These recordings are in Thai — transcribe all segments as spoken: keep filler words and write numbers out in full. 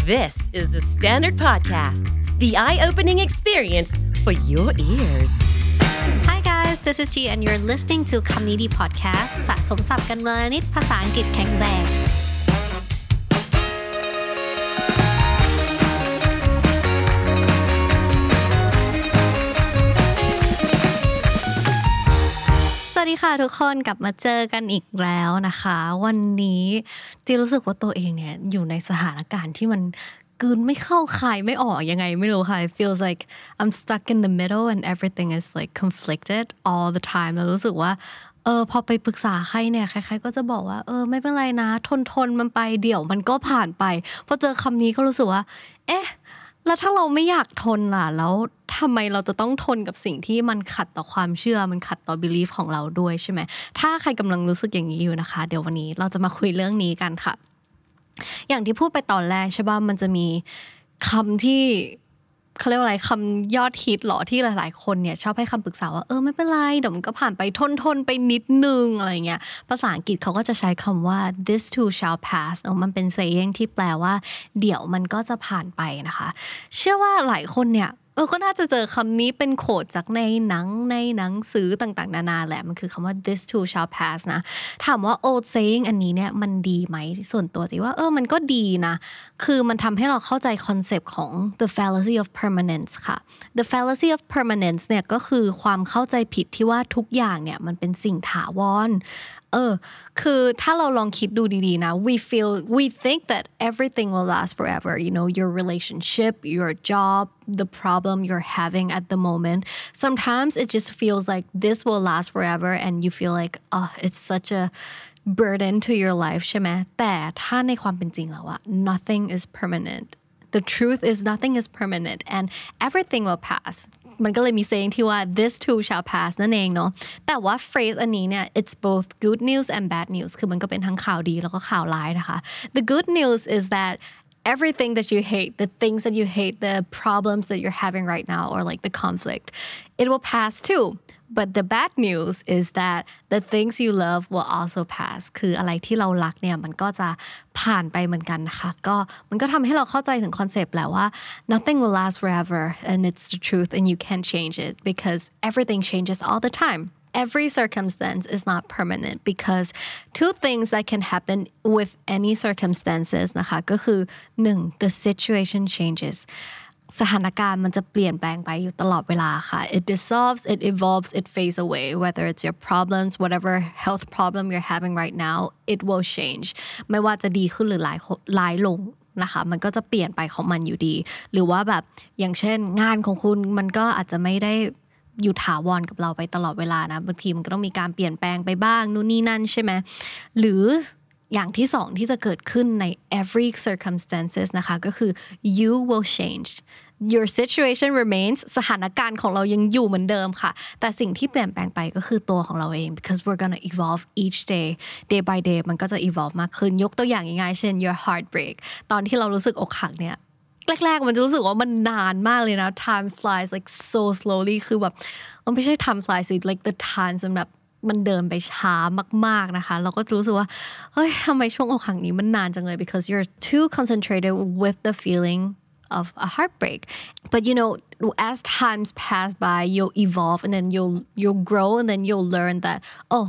This is the Standard Podcast, the eye-opening experience for your ears. Hi guys, this is G and you're listening to คำนี้ดี podcast สะสมศัพท์กันวลนิดภาษาอังกฤษแข็งแรงสวัสดีค่ะทุกคนกลับมาเจอกันอีกแล้วนะคะวันนี้จีรู้สึกว่าตัวเองเนี่ยอยู่ในสถานการณ์ที่มันกลืนไม่เข้าคายไม่ออกยังไงไม่รู้ค่ะ It feels like I'm stuck in the middle and everything is like conflicted all the time แล้วรู้สึกว่าเออพอไปปรึกษาใครเนี่ยใครๆก็จะบอกว่าเออไม่เป็นไรนะทนทนมันไปเดี๋ยวมันก็ผ่านไปพอเจอคำนี้ก็รู้สึกว่าเอ๊ะแล้วถ้าเราไม่อยากทนล่ะแล้วทำไมเราจะต้องทนกับสิ่งที่มันขัดต่อความเชื่อมันขัดต่อ belief ของเราด้วยใช่ไหมถ้าใครกำลังรู้สึกอย่างนี้อยู่นะคะเดี๋ยววันนี้เราจะมาคุยเรื่องนี้กันค่ะอย่างที่พูดไปตอนแรกใช่ป่ะมันจะมีคำที่เขาเรียกว่าอะไรคำยอดฮิตหรอที่หลายๆคนเนี่ยชอบให้คำปรึกษาว่าเออไม่เป็นไรเดี๋ยวมันก็ผ่านไปทนทนไปนิดนึงอะไรเงี้ยภาษาอังกฤษเขาก็จะใช้คำว่า this too shall pass เนอะมันเป็น saying ที่แปลว่าเดี๋ยวมันก็จะผ่านไปนะคะเชื่อว่าหลายคนเนี่ยเออก็น่าจะเจอคำนี้เป็นโค้ดจากในหนังในหนังสือต่างๆนานาแหละมันคือคำว่า this too shall pass นะถามว่า old saying อันนี้เนี่ยมันดีไหมส่วนตัวจีว่าเออมันก็ดีนะคือมันทำให้เราเข้าใจคอนเซปต์ของ the fallacy of permanence ค่ะ the fallacy of permanence เนี่ยก็คือความเข้าใจผิดที่ว่าทุกอย่างเนี่ยมันเป็นสิ่งถาวรเออคือถ้าเราลองคิดดูดีๆนะ we feel we think that everything will last forever you know your relationship your job the problem you're having at the moment sometimes it just feels like this will last forever and you feel like oh it's such a burden to your life ใช่ไหมแต่ถ้าในความเป็นจริงแล้วอะ nothing is permanent the truth is nothing is permanent and everything will passมันก็เลยมี saying ที่ว่า this too shall pass นั่นเองเนาะแต่ว่า phrase อันนี้เนี่ย it's both good news and bad news คือมันก็เป็นทั้งข่าวดีแล้วก็ข่าวร้ายนะคะ the good news is that everything that you hate the things that you hate the problems that you're having right now or like the conflict it will pass too but the bad news is that the things you love will also pass คืออะไรที่เรารักเนี่ยมันก็จะผ่านไปเหมือนกันนะคะก็มันก็ทำให้เราเข้าใจถึงคอนเซปต์แหละว่า nothing will last forever and it's the truth and you can't change it because everything changes all the time every circumstance is not permanent because two things that can happen with any circumstances นะคะก็คือหนึ่ง the situation changesสถานการณ์มันจะเปลี่ยนแปลงไปอยู่ตลอดเวลาค่ะ it dissolves it evolves it fades away whether it's your problems whatever health problem you're having right now it will change ไม่ว่าจะดีขึ้นหรือร้ายร้ายลงนะคะมันก็จะเปลี่ยนไปของมันอยู่ดีหรือว่าแบบอย่างเช่นงานของคุณมันก็อาจจะไม่ได้อยู่ถาวรกับเราไปตลอดเวลานะบางทีมันก็ต้องมีการเปลี่ยนแปลงไปบ้างนู่นนี่นั่นใช่ไหมหรืออย่างที่สองที่จะเกิดขึ้นใน every circumstances นะคะก็คือ you will change your situation remains สถานการณ์ของเรายังอยู่เหมือนเดิมค่ะแต่สิ่งที่เปลี่ยนแปลงไปก็คือตัวของเราเอง because we're gonna evolve each day day by day มันก็จะ evolve มากขึ้นยกตัวอย่างง่ายๆเช่น your heartbreak ตอนที่เรารู้สึกอกหักเนี่ยแรกๆมันจะรู้สึกว่ามันนานมากเลยนะ time flies like so slowly คือแบบมันไม่ใช่ time flies like the time สำหรับมันเดินไปช้ามากๆนะคะเราก็รู้สึกว่าเฮ้ยทำไมช่วงอกหักนี้มันนานจังเลย because you're too concentrated with the feeling of a heartbreak but you know as times pass by you'll evolve and then you'll you'll grow and then you'll learn that oh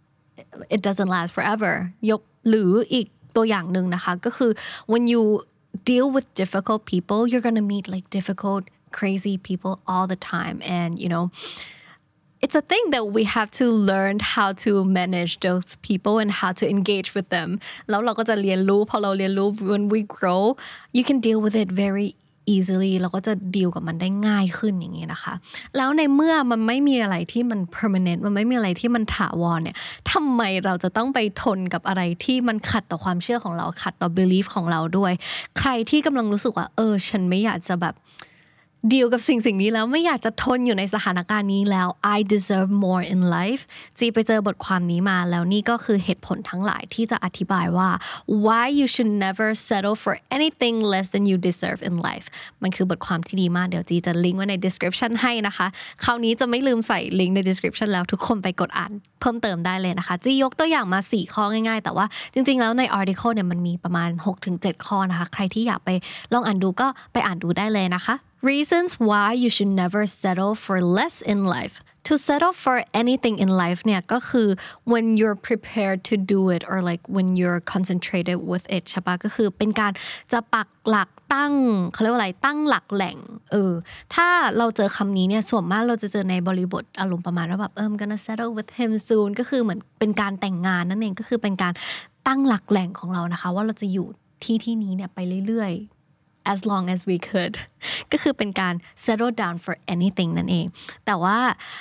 it doesn't last forever ยกหรืออีกตัวอย่างนึงนะคะก็คือ when you deal with difficult people you're gonna meet like difficult crazy people all the time and you know it's a thing that we have to learn how to manage those people and how to engage with them แล้วเราก็จะเรียนรู้พอเราเรียนรู้ when we grow you can deal with it very easily เราก็จะดีลกับมันได้ง่ายขึ้นอย่างนี้นะคะแล้วในเมื่อมันไม่มีอะไรที่มัน permanent มันไม่มีอะไรที่มันถาวรเนี่ยทำไมเราจะต้องไปทนกับอะไรที่มันขัดต่อความเชื่อของเราขัดต่อ belief ของเราด้วยใครที่กำลังรู้สึกว่าเออฉันไม่อยากจะแบบดีลกับสิ่งสิ่งนี้แล้วไม่อยากจะทนอยู่ในสถานการณ์นี้แล้ว I deserve more in life จีไปเจอบทความนี้มาแล้วนี่ก็คือเหตุผลทั้งหลายที่จะอธิบายว่า why you should never settle for anything less than you deserve in life มันคือบทความที่ดีมากเดี๋ยวจีจะลิงก์ไว้ใน description ให้นะคะคราวนี้จะไม่ลืมใส่ลิงก์ใน description แล้วทุกคนไปกดอ่านเพิ่มเติมได้เลยนะคะจียกตัวอย่างมาสี่ข้อง่ายๆแต่ว่าจริงๆแล้วใน article เนี่ยมันมีประมาณ หกถึงเจ็ด ข้อนะคะใครที่อยากไปลองอ่านดูก็ไปอ่านดูได้เลยนะคะReasons why you should never settle for less in life. To settle for anything in life เนี่ยก็คือ when you're prepared to do it or like when you're concentrated with it ใช่ปะก็คือเป็นการจะปักหลักตั้งเขาเรียกว่าอะไรตั้งหลักแหล่งเออถ้าเราเจอคำนี้เนี่ยส่วนมากเราจะเจอในบริบทอารมณ์ประมาณว่าแบบเออ I'm gonna settle with him soon ก็คือเหมือนเป็นการแต่งงานนั่นเองก็คือเป็นการตั้งหลักแหล่งของเรานะคะว่าเราจะอยู่ที่ที่นี้เนี่ยไปเรื่อยๆas long as we could ก็คือเป็นการ settle down for anything นั่นเองแต่ว่า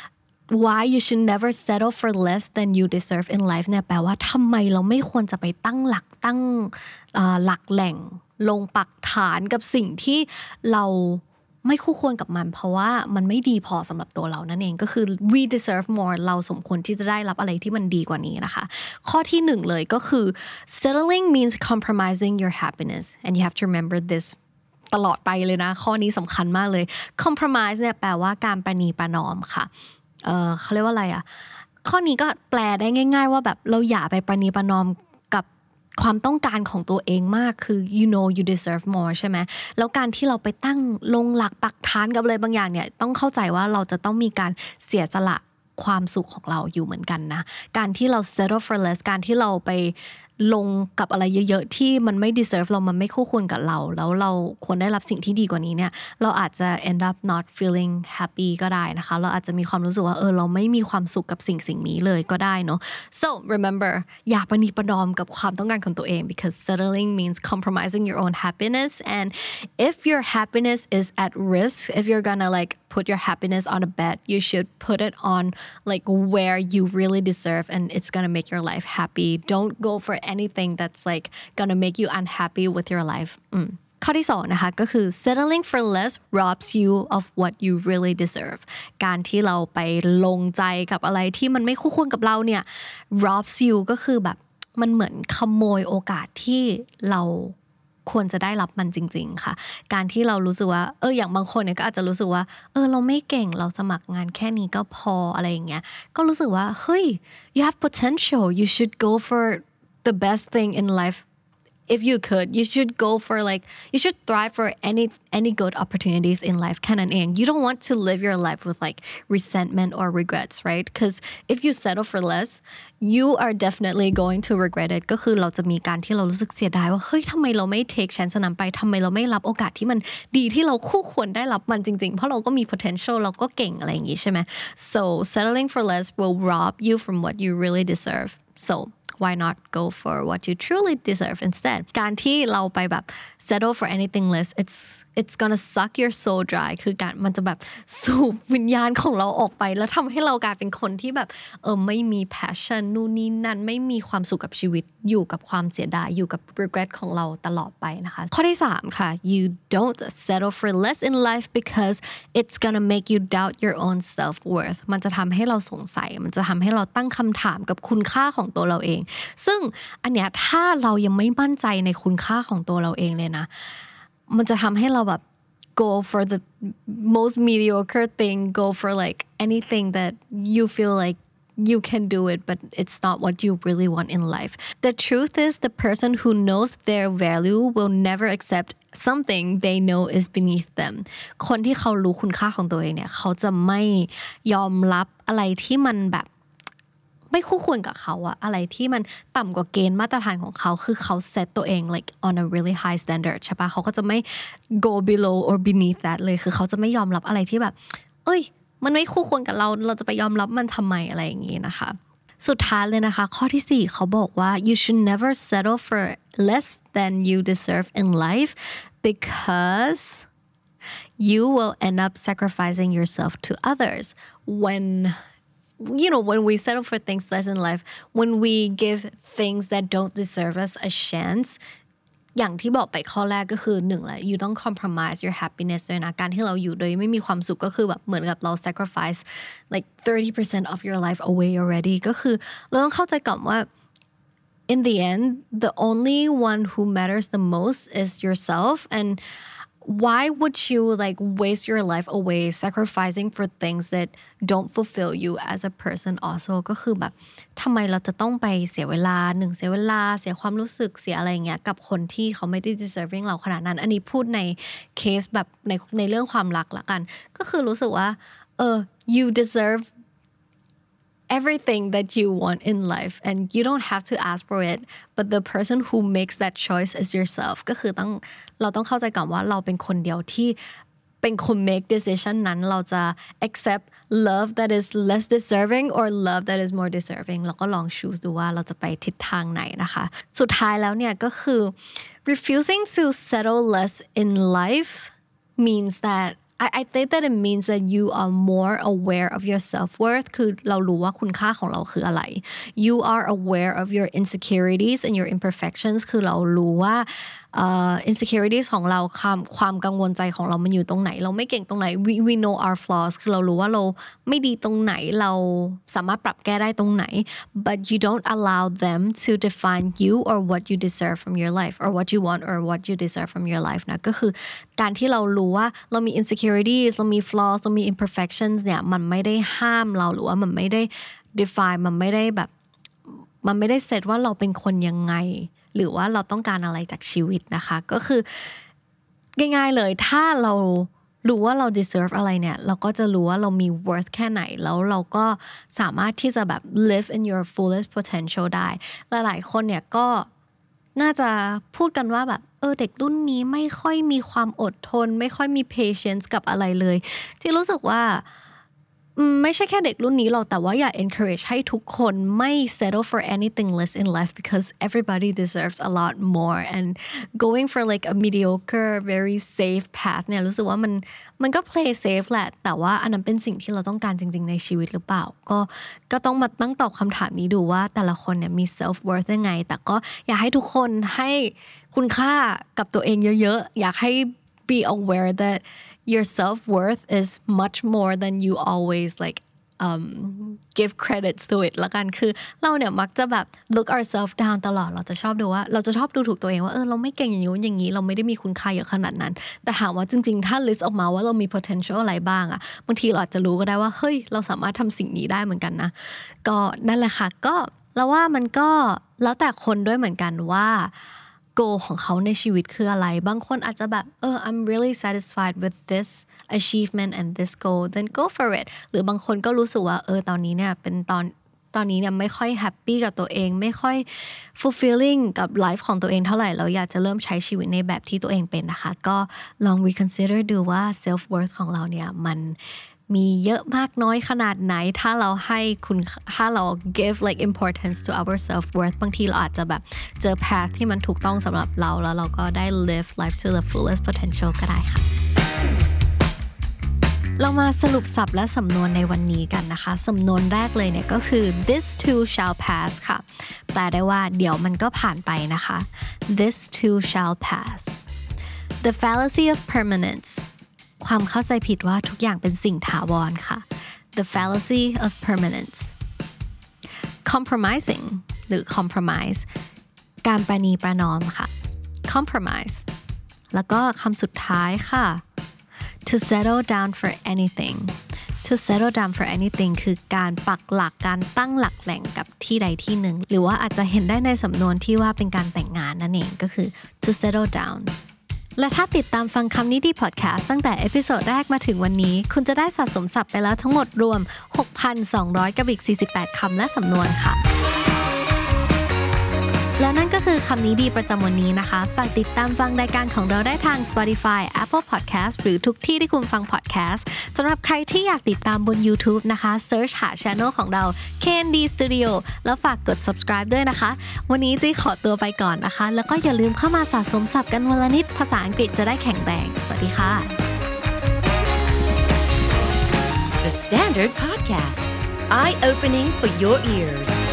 why you should never settle for less than you deserve in life เนี่ยแปลว่าทำไมเราไม่ควรจะไปตั้งหลักตั้งหลักแหล่งลงปักฐานกับสิ่งที่เราไม่คู่ควรกับมันเพราะว่ามันไม่ดีพอสำหรับตัวเรานั่นเองก็คือ we deserve more เราสมควรที่จะได้รับอะไรที่มันดีกว่านี้นะคะข้อที่หนึ่งเลยก็คือ settling means compromising your happiness and you have to remember thisตลอดไปเลยนะข้อนี้สำคัญมากเลย compromise เนี่ยแปลว่าการประนีประนอมค่ะเออเขาเรียกว่าอะไรอ่ะข้อนี้ก็แปลได้ง่ายๆว่าแบบเราอย่าไปประนีประนอมกับความต้องการของตัวเองมากคือ you know you deserve more ใช่ไหมแล้วการที่เราไปตั้งลงหลักปักฐานกับอะไรบางอย่างเนี่ยต้องเข้าใจว่าเราจะต้องมีการเสียสละความสุขของเราอยู่เหมือนกันนะการที่เรา settle for less การที่เราไปลงกับอะไรเยอะๆที่มันไม่ deserve เรามันไม่คู่ควรกับเราแล้วเราควรได้รับสิ่งที่ดีกว่านี้เนี่ยเราอาจจะ end up not feeling happy ก็ได้นะคะเราอาจจะมีความรู้สึกว่าเออเราไม่มีความสุขกับสิ่งสิ่งนี้เลยก็ได้เนาะ so remember อย่าประนีประนอมกับความต้องการของตัวเอง because settling means compromising your own happiness and if your happiness is at risk if you're gonna like put your happiness on a bet you should put it on like where you really deserve and it's gonna make your life happy don't go for anything that's like gonna make you unhappy with your life อืมข้อที่สองนะคะก็คือ settling for less robs you of what you really deserve การที่เราไปลงใจกับอะไรที่มันไม่คู่ควรกับเราเนี่ย robs you ก็คือแบบมันเหมือนขโมยโอกาสที่เราควรจะได้รับมันจริงๆค่ะการที่เรารู้สึกว่าเอออย่างบางคนเนี่ยก็อาจจะรู้สึกว่าเออเราไม่เก่งเราสมัครงานแค่นี้ก็พออะไรอย่างเงี้ยก็รู้สึกว่าเฮ้ย you have potential you should go for the best thing in life if you could you should go for like you should thrive for any any good opportunities in life แค่นั้นเอง you don't want to live your life with like resentment or regrets right because if you settle for less you are definitely going to regret it ก็คือเราจะมีการที่เรารู้สึกเสียดายว่าเฮ้ยทำไมเราไม่ take chance นั้นไปทำไมเราไม่รับโอกาสที่มันดีที่เราคู่ควรได้รับมันจริงๆเพราะเราก็มี potential เราก็เก่งอะไรอย่างงี้ใช่ไหม so settling for less will rob you from what you really deserve so why not go for what you truly deserve instead การที่เราไปแบบ settle for anything less it's it's gonna suck your soul dry คือการมันจะแบบสูบวิญญาณของเราออกไปแล้วทำให้เรากลายเป็นคนที่แบบเออไม่มี passion นู่นนี่นั่นไม่มีความสุขกับชีวิตอยู่กับความเสียดายอยู่กับ regret ของเราตลอดไปนะคะข้อที่สามค่ะ you don't settle for less in life because it's gonna make you doubt your own self-worth มันจะทำให้เราสงสัยมันจะทำให้เราตั้งคำถามกับคุณค่าของตัวเราเองซึ่งอันเนี้ยถ้าเรายังไม่มั่นใจในคุณค่าของตัวเราเองเลยนะมันจะทำให้เราแบบ go for the most mediocre thing go for like anything that you feel like you can do it but it's not what you really want in life the truth is the person who knows their value will never accept something they know is beneath them คนที่เขารู้คุณค่าของตัวเองเนี่ยเขาจะไม่ยอมรับอะไรที่มันแบบไม่คู่ควรกับเขาอะอะไรที่มันต่ำกว่าเกณฑ์มาตรฐานของเขาคือเขา set ตัวเอง like on a really high standard ใช่ปะเขาก็จะไม่ go below or beneath that เลยคือเขาจะไม่ยอมรับอะไรที่แบบเอ้ยมันไม่คู่ควรกับเราเราจะไปยอมรับมันทำไมอะไรอย่างงี้นะคะสุดท้ายเลยนะคะข้อที่สี่เขาบอกว่า you should never settle for less than you deserve in life because you will end up sacrificing yourself to others when you know when we settle for things less in life when we give things that don't deserve us a chance อย่างที่บอกไปข้อแรกก็คือหนึ่งแหละ you ต้อง compromise your happiness ด้วยนะการที่เราอยู่โดยไม่มีความสุขก็คือแบบเหมือนกับเรา sacrifice like thirty percent of your life away already ก็คือเราต้องเข้าใจก่อนว่า in the end the only one who matters the most is yourself and why would you like waste your life away sacrificing for things that don't fulfill you as a person also ก็คือแบบทำไมเราจะต้องไปเสียเวลาหนึ่งเสียเวลาเสียความรู้สึกเสียอะไรเงี้ยกับคนที่เขาไม่ได้ deserving เราขนาดนั้นอันนี้พูดในเคสแบบในในเรื่องความรักละกันก็คือรู้สึกว่าเออ you deserve everything that you want in life and you don't have to ask for it but the person who makes that choice is yourself ก็คือต้องเราต้องเข้าใจก่อนว่าเราเป็นคนเดียวที่เป็นคน make decision นั้นเราจะ accept love that is less deserving or love that is more deserving แล้วก็ลอง choose ดูว่าเราจะไปทิศทางไหนนะคะสุดท้ายแล้วเนี่ยก็คือ refusing to settle less in life means that I, I think that it means that you are more aware of your self-worth คือเรารู้ว่าคุณค่าของเราคืออะไร you are aware of your insecurities and your imperfections คือเรารู้ว่า uh, insecurities ของเราความความกังวลใจของเรามันอยู่ตรงไหนเราไม่เก่งตรงไหน we, we know our flaws คือเรารู้ว่าเราไม่ดีตรงไหนเราสามารถปรับแก้ได้ตรงไหน but you don't allow them to define you or what you deserve from your life or what you want or what you deserve from your life นะก็คือการที่เรารู้ว่าเรามี insecurities เรามี flaws เรามี imperfections เนี่ยมันไม่ได้ห้ามเราหรือว่ามันไม่ได้ define มันไม่ได้แบบมันไม่ได้เซตว่าเราเป็นคนยังไงหรือว่าเราต้องการอะไรจากชีวิตนะคะก็คือง่ายๆเลยถ้าเรารู้ว่าเรา deserve อะไรเนี่ยเราก็จะรู้ว่าเรามี worth แค่ไหนแล้วเราก็สามารถที่จะแบบ live in your fullest potential ได้หลายๆคนเนี่ยก็น่าจะพูดกันว่าแบบเออเด็กรุ่นนี้ไม่ค่อยมีความอดทนไม่ค่อยมี patience กับอะไรเลยที่รู้สึกว่าไม่ใช่แค่เด็กรุ่นนี้หรอกแต่ว่าอยาก encourage ให้ทุกคนไม่ settle for anything less in life because everybody deserves a lot more and going for like a mediocre very safe path เนี่ยรู้สึกว่ามันมันก็ play safe แหละแต่ว่าอันนั้นเป็นสิ่งที่เราต้องการจริงๆในชีวิตหรือเปล่าก็ก็ต้องมาตั้งตอบคำถามนี้ดูว่าแต่ละคนเนี่ยมี self worth ยังไงแต่ก็อยากให้ทุกคนให้คุณค่ากับตัวเองเยอะๆอยากให้ be aware that your self-worth is much more than you always like um, give credits to it ละกันคือเราเนี่ยมักจะแบบ look ourselves down ตลอดเราจะชอบดูว่าเราจะชอบดูถูกตัวเองว่าเออเราไม่เก่งอย่างนี้อย่างนี้เราไม่ได้มีคุณค่าเยอะขนาดนั้นแต่ถามว่าจริงๆถ้า list ออกมาว่าเรามี potential อะไรบ้างอะบางทีเราอาจจะรู้ก็ได้ว่าเฮ้ยเราสามารถทำสิ่งนี้ได้เหมือนกันนะก็นั่นแหละค่ะก็เราว่ามันก็แล้วแต่คนด้วยเหมือนกันว่าgoal ของเขาในชีวิตคืออะไรบางคนอาจจะแบบเออ I'm really satisfied with this achievement and this goal then go for it หรือบางคนก็รู้สึกว่าเออตอนนี้เนี่ยเป็นตอนตอนนี้เนี่ยไม่ค่อยแฮปปี้กับตัวเองไม่ค่อย fulfilling กับไลฟ์ของตัวเองเท่าไหร่เราอยากจะเริ่มใช้ชีวิตในแบบที่ตัวเองเป็นนะคะก็ลอง reconsider ดูว่า self worth ของเราเนี่ยมันมีเยอะมากน้อยขนาดไหนถ้าเราให้คุณถ้าเรา give like importance to our self worth บางทีเราอาจจะแบบเจอ path ที่มันถูกต้องสำหรับเราแล้วเราก็ได้ live life to the fullest potential ก็ได้ค่ะเรามาสรุปศัพท์และสำนวนในวันนี้กันนะคะสำนวนแรกเลยเนี่ยก็คือ this too shall pass ค่ะแปลได้ว่าเดี๋ยวมันก็ผ่านไปนะคะ this too shall pass the fallacy of permanenceความเข้าใจผิดว่าทุกอย่างเป็นสิ่งถาวรค่ะ the fallacy of permanence compromising หรือ compromise การประนีประนอมค่ะ compromise แล้วก็คำสุดท้ายค่ะ to settle down for anything to settle down for anything คือการปักหลักการตั้งหลักแหล่งกับที่ใดที่หนึ่งหรือว่าอาจจะเห็นได้ในสำนวนที่ว่าเป็นการแต่งงานนั่นเองก็คือ to settle downและถ้าติดตามฟังคำนี้ดีพอดแคสต์ตั้งแต่เอพิโซดแรกมาถึงวันนี้คุณจะได้สะสมศัพท์ไปแล้วทั้งหมดรวม หกพันสองร้อย กับอีกสี่สิบแปดคำและสำนวนค่ะและนั่นก็คือคำนี้ดีประจำวันนี้นะคะฝากติดตามฟังรายการของเราได้ทาง Spotify Apple Podcast หรือทุกที่ที่คุณฟัง podcast สำหรับใครที่อยากติดตามบน YouTube นะคะ search หา channel ของเรา เค เอ็น ดี Studio แล้วฝากกด subscribe ด้วยนะคะวันนี้จีขอตัวไปก่อนนะคะแล้วก็อย่าลืมเข้ามาสะสมศัพท์กันวันละนิดภาษาอังกฤษจะได้แข็งแรงสวัสดีค่ะ The Standard Podcast Eye Opening for Your Ears